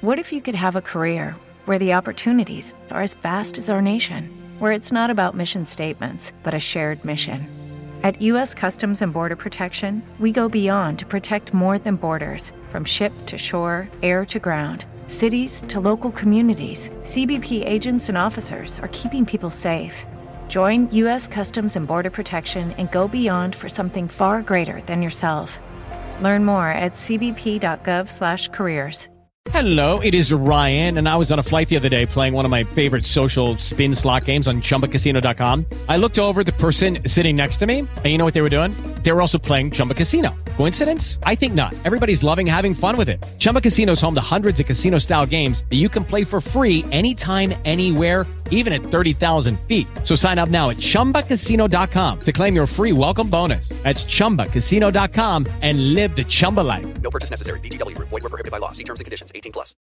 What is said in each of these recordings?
What if you could have a career where the opportunities are as vast as our nation, where it's not about mission statements, but a shared mission? At U.S. Customs and Border Protection, we go beyond to protect more than borders. From ship to shore, air to ground, cities to local communities, CBP agents and officers are keeping people safe. Join U.S. Customs and Border Protection and go beyond for something far greater than yourself. Learn more at cbp.gov/careers. Hello, it is Ryan, and I was on a flight the other day playing one of my favorite social spin slot games on ChumbaCasino.com. I looked over at the person sitting next to me, and you know what they were doing? They were also playing Chumba Casino. Coincidence? I think not. Everybody's loving having fun with it. Chumba Casino is home to hundreds of casino-style games that you can play for free anytime, anywhere, even at 30,000 feet. So sign up now at ChumbaCasino.com to claim your free welcome bonus. That's ChumbaCasino.com and live the Chumba life. No purchase necessary. VGW. Void were prohibited by law. See terms and conditions. 18+.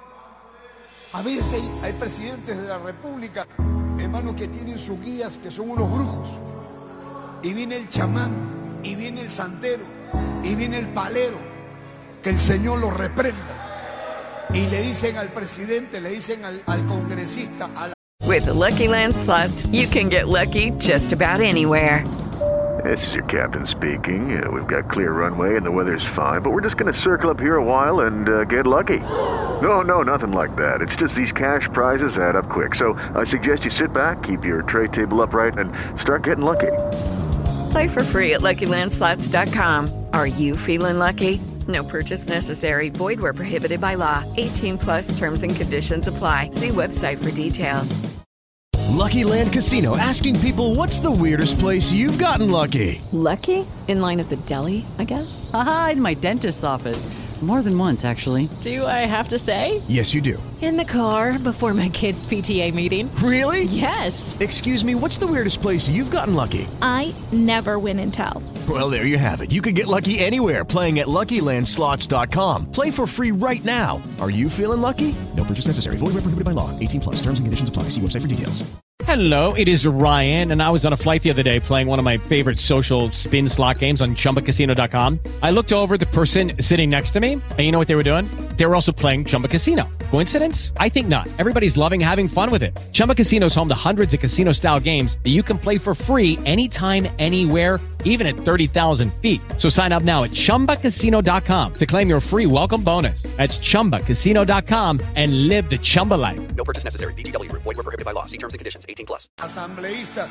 A veces hay presidentes de la República, hermanos, que tienen sus guías que son unos brujos. Y viene el chamán, y viene el santero, y viene el palero. Que el Señor los reprenda. Y le dicen al presidente, le dicen al congresista, a la... With the Lucky Land Slots, you can get lucky just about anywhere. This is your captain speaking. We've got clear runway and the weather's fine, but we're just going to circle up here a while and get lucky. No, nothing like that. It's just these cash prizes add up quick. So I suggest you sit back, keep your tray table upright, and start getting lucky. Play for free at LuckyLandSlots.com. Are you feeling lucky? No purchase necessary. Void where prohibited by law. 18+ terms and conditions apply. See website for details. Lucky Land Casino, asking people, what's the weirdest place you've gotten lucky? Lucky? In line at the deli, I guess? Aha, in my dentist's office. More than once, actually. Do I have to say? Yes, you do. In the car before my kids' PTA meeting. Really? Yes. Excuse me, what's the weirdest place you've gotten lucky? I never win and tell. Well, there you have it. You can get lucky anywhere, playing at LuckyLandSlots.com. Play for free right now. Are you feeling lucky? No purchase necessary. Void where prohibited by law. 18+. Terms and conditions apply. See website for details. Hello, it is Ryan, and I was on a flight the other day playing one of my favorite social spin slot games on ChumbaCasino.com. I looked over at the person sitting next to me, and you know what they were doing? They were also playing Chumba Casino. Coincidence? I think not. Everybody's loving having fun with it. Chumba Casino is home to hundreds of casino-style games that you can play for free anytime, anywhere, even at 30,000 feet. So sign up now at ChumbaCasino.com to claim your free welcome bonus. That's ChumbaCasino.com and live the Chumba life. No purchase necessary. VGW. Void were prohibited by law. See terms and conditions. 18+. Asambleísta.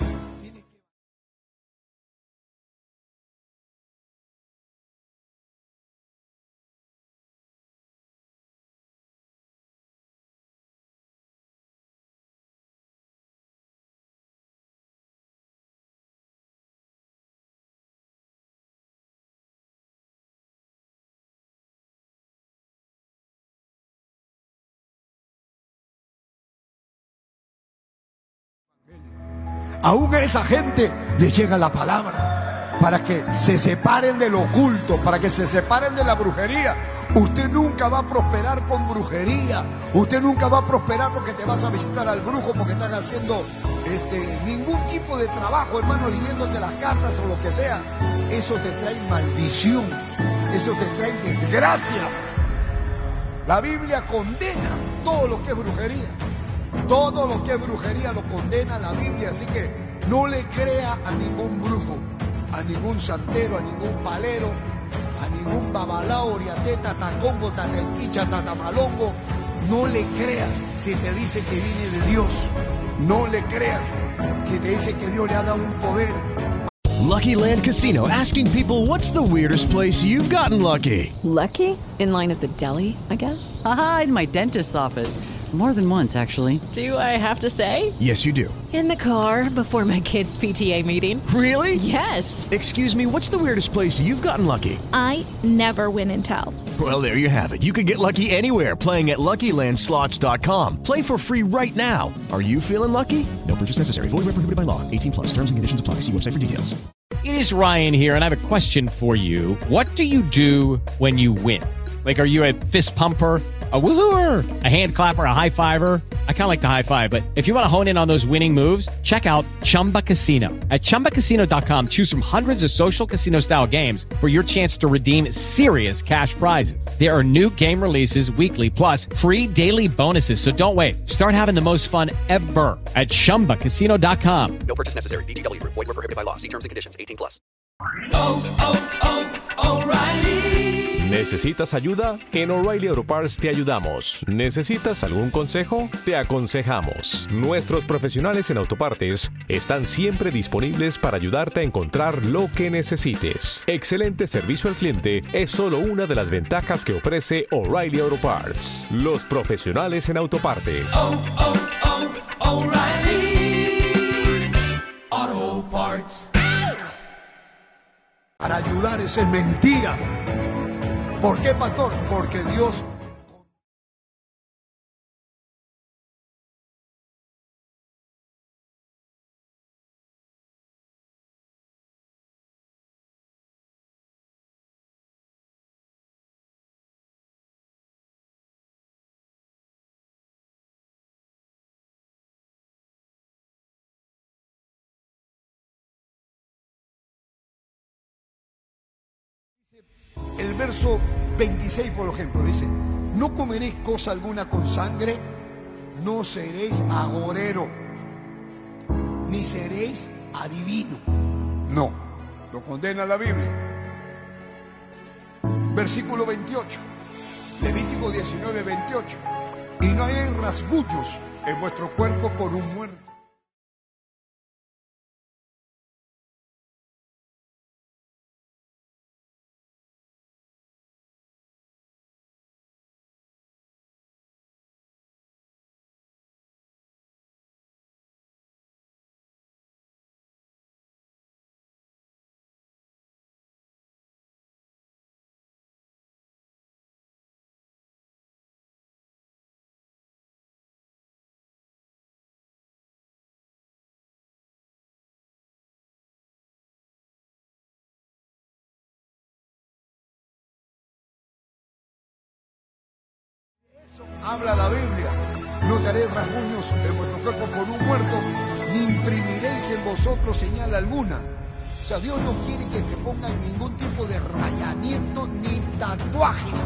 Aún a esa gente le llega la palabra para que se separen del oculto, para que se separen de la brujería. Usted nunca va a prosperar con brujería. Usted nunca va a prosperar porque te vas a visitar al brujo, porque están haciendo ningún tipo de trabajo, hermano, leyéndote las cartas o lo que sea. Eso te trae maldición, eso te trae desgracia. La Biblia condena todo lo que es brujería. Todo lo que es brujería lo condena la Biblia, así que no le crea a ningún brujo, a ningún santero, a ningún palero, a ningún babalao, oriateta, tacongo, tatequicha, tatamalongo. No le creas si te dice que viene de Dios. No le creas que te dice que Dios le ha dado un poder. Lucky Land Casino, asking people, what's the weirdest place you've gotten lucky? Lucky? In line at the deli, I guess? Aha, in my dentist's office. More than once, actually. Do I have to say? Yes, you do. In the car before my kids' PTA meeting. Really? Yes. Excuse me, what's the weirdest place you've gotten lucky? I never win and tell. Well, there you have it. You can get lucky anywhere, playing at LuckyLandSlots.com. Play for free right now. Are you feeling lucky? No purchase necessary. Void where prohibited by law. 18+. Terms and conditions apply. See website for details. It is Ryan here, and I have a question for you. What do you do when you win? Like, are you a fist pumper? A woohooer, a hand clapper, a high fiver. I kind of like the high five, but if you want to hone in on those winning moves, check out Chumba Casino. At ChumbaCasino.com, choose from hundreds of social casino style games for your chance to redeem serious cash prizes. There are new game releases weekly, plus free daily bonuses. So don't wait. Start having the most fun ever at ChumbaCasino.com. No purchase necessary. VGW Group. Void where prohibited by law. See terms and conditions. 18 plus. O'Reilly. ¿Necesitas ayuda? En O'Reilly Auto Parts te ayudamos. ¿Necesitas algún consejo? Te aconsejamos. Nuestros profesionales en autopartes están siempre disponibles para ayudarte a encontrar lo que necesites. Excelente servicio al cliente es solo una de las ventajas que ofrece O'Reilly Auto Parts. Los profesionales en autopartes. O'Reilly Auto Parts. Para ayudar, eso es mentira. ¿Por qué, pastor? Porque Dios... El verso 26, por ejemplo, dice: no comeréis cosa alguna con sangre, no seréis agorero, ni seréis adivino. No, lo condena la Biblia. Versículo 28, Levítico 19, 28. Y no hay rasguños en vuestro cuerpo por un muerto. Habla la Biblia: no daréis rasguños en vuestro cuerpo por un muerto, ni imprimiréis en vosotros señal alguna. O sea, Dios no quiere que se pongan ningún tipo de rayamiento ni tatuajes.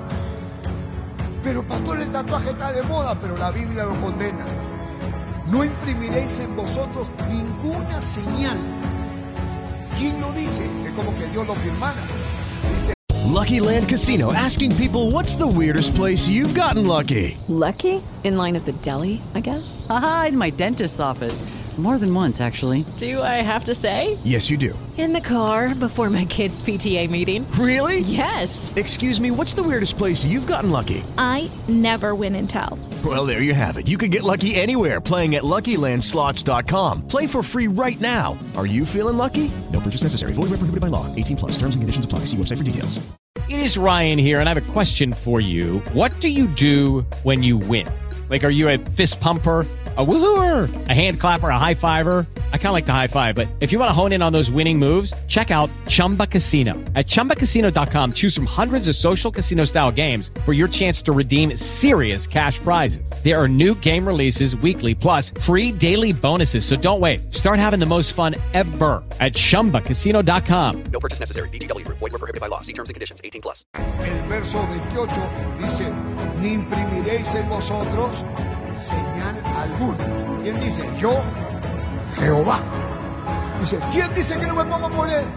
Pero pastor, el tatuaje está de moda, pero la Biblia lo condena. No imprimiréis en vosotros ninguna señal. ¿Quién lo dice? Es como que Dios lo firmara. Dice Lucky Land Casino, asking people, what's the weirdest place you've gotten lucky? Lucky? In line at the deli, I guess? Aha, in my dentist's office. More than once, actually. Do I have to say? Yes, you do. In the car before my kids' PTA meeting. Really? Yes. Excuse me, what's the weirdest place you've gotten lucky? I never win and tell. Well, there you have it. You can get lucky anywhere, playing at LuckyLandSlots.com. Play for free right now. Are you feeling lucky? No purchase necessary. Void where prohibited by law. 18 plus. Terms and conditions apply. See website for details. It is Ryan here, and I have a question for you. What do you do when you win? Like, are you a fist pumper, a woohooer, a hand clapper, a high fiver? I kind of like the high five, but if you want to hone in on those winning moves, check out Chumba Casino. At ChumbaCasino.com, choose from hundreds of social casino style games for your chance to redeem serious cash prizes. There are new game releases weekly, plus free daily bonuses. So don't wait. Start having the most fun ever at ChumbaCasino.com. No purchase necessary. VGW Group. Void where prohibited by law. See terms and conditions. 18 plus. el verso 28, dice: ni imprimiréis en vosotros señal alguna. ¿Quién dice? Yo, Jehová. Dice: ¿quién dice que no me pongo a poner?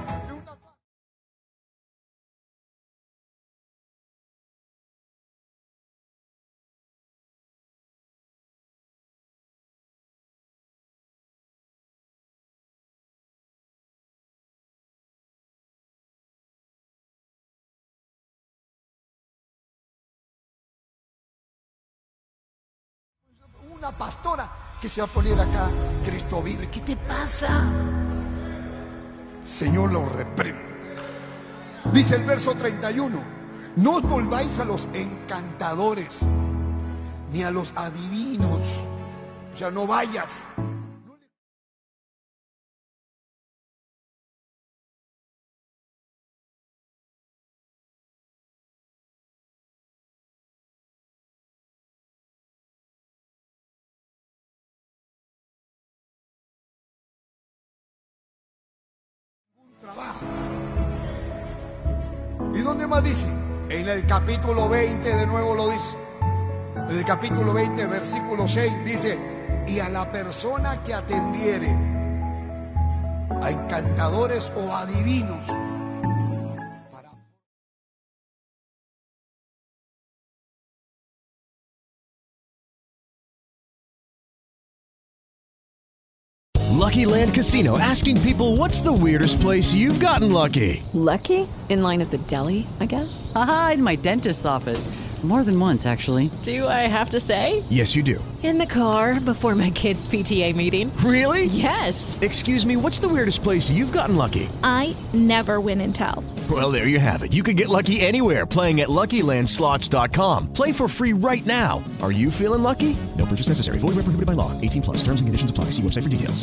Una pastora que se va a poner acá: Cristo vive. ¿Qué te pasa? Señor lo reprende. Dice el verso 31: no os volváis a los encantadores ni a los adivinos. O sea, no vayas. ¿Dónde más dice? En el capítulo 20 de nuevo lo dice. En el capítulo 20, versículo 6 dice: y a la persona que atendiere a encantadores o adivinos para... Lucky Land Casino, asking people, what's the weirdest place you've gotten lucky? Lucky? In line at the deli, I guess? Aha, in my dentist's office. More than once, actually. Do I have to say? Yes, you do. In the car before my kids' PTA meeting. Really? Yes. Excuse me, what's the weirdest place you've gotten lucky? I never win and tell. Well, there you have it. You can get lucky anywhere, playing at LuckyLandSlots.com. Play for free right now. Are you feeling lucky? No purchase necessary. Void where prohibited by law. 18 plus. Terms and conditions apply. See website for details.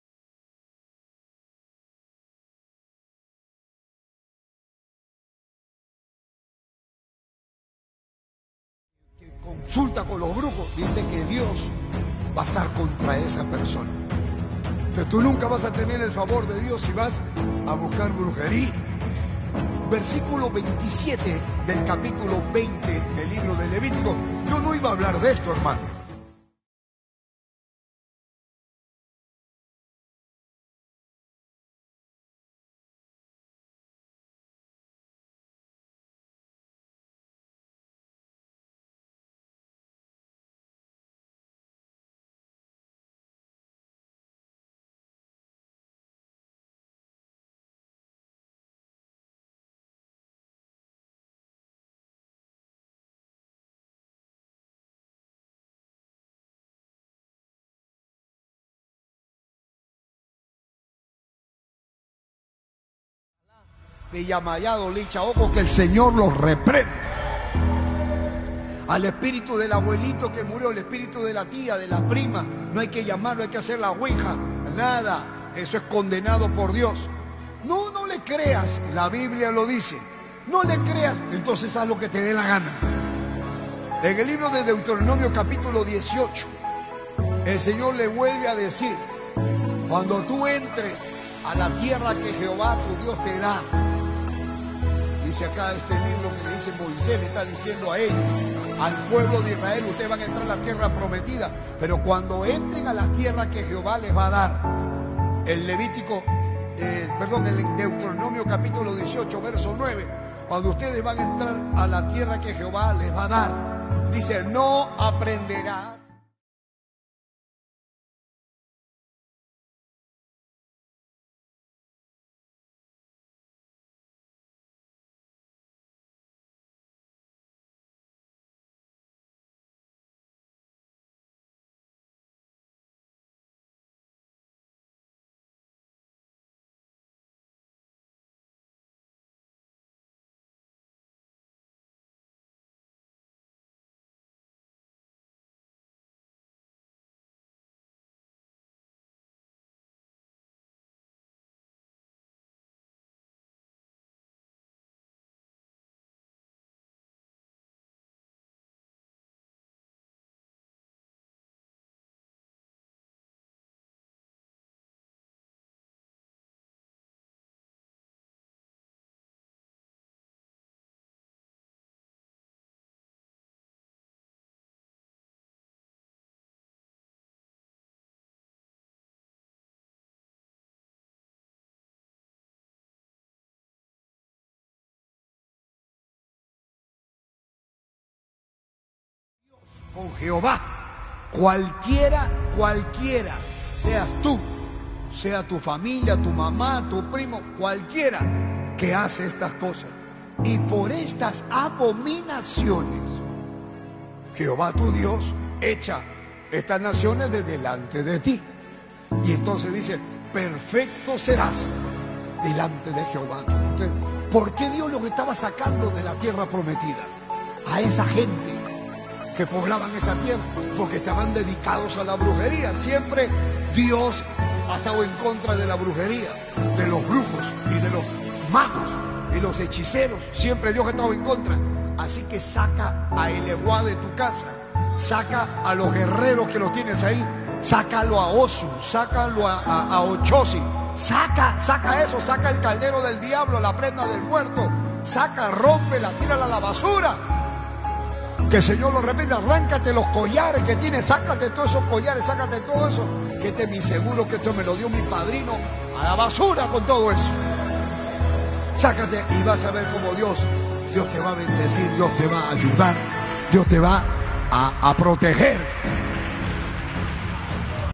Consulta con los brujos, dice que Dios va a estar contra esa persona. Entonces tú nunca vas a tener el favor de Dios si vas a buscar brujería. Versículo 27 del capítulo 20 del libro de Levítico. Yo no iba a hablar de esto, hermano. De Yamayado, Licha, ojo que el Señor los reprende. Al espíritu del abuelito que murió, el espíritu de la tía, de la prima, no hay que llamarlo, hay que hacer la ouija, nada, eso es condenado por Dios. No le creas, la Biblia lo dice, no le creas, entonces haz lo que te dé la gana. En el libro de Deuteronomio capítulo 18, el Señor le vuelve a decir: cuando tú entres a la tierra que Jehová tu Dios te da, dice acá este libro que le dice Moisés, le está diciendo a ellos, al pueblo de Israel, ustedes van a entrar a la tierra prometida, pero cuando entren a la tierra que Jehová les va a dar, el Deuteronomio capítulo 18, verso 9, cuando ustedes van a entrar a la tierra que Jehová les va a dar, dice: no aprenderás con Jehová. Cualquiera, seas tú, sea tu familia, tu mamá, tu primo, cualquiera que hace estas cosas. Y por estas abominaciones, Jehová tu Dios echa estas naciones de delante de ti. Y entonces dice: perfecto serás delante de Jehová. Entonces, ¿por qué Dios los estaba sacando de la tierra prometida? A esa gente que poblaban esa tierra, porque estaban dedicados a la brujería. Siempre Dios ha estado en contra de la brujería, de los brujos y de los magos y los hechiceros. Siempre Dios ha estado en contra. Así que saca a Eleguá de tu casa, saca a los guerreros que los tienes ahí, sácalo a Osu, sácalo a Ochosi, saca eso, saca el caldero del diablo, la prenda del muerto, saca, rómpela, tírala a la basura. Que el Señor lo repita, arráncate los collares que tienes, sácate todos esos collares, sácate todo eso, que este es mi seguro, que esto me lo dio mi padrino, a la basura con todo eso. Sácate y vas a ver cómo Dios te va a bendecir, Dios te va a ayudar, Dios te va a proteger.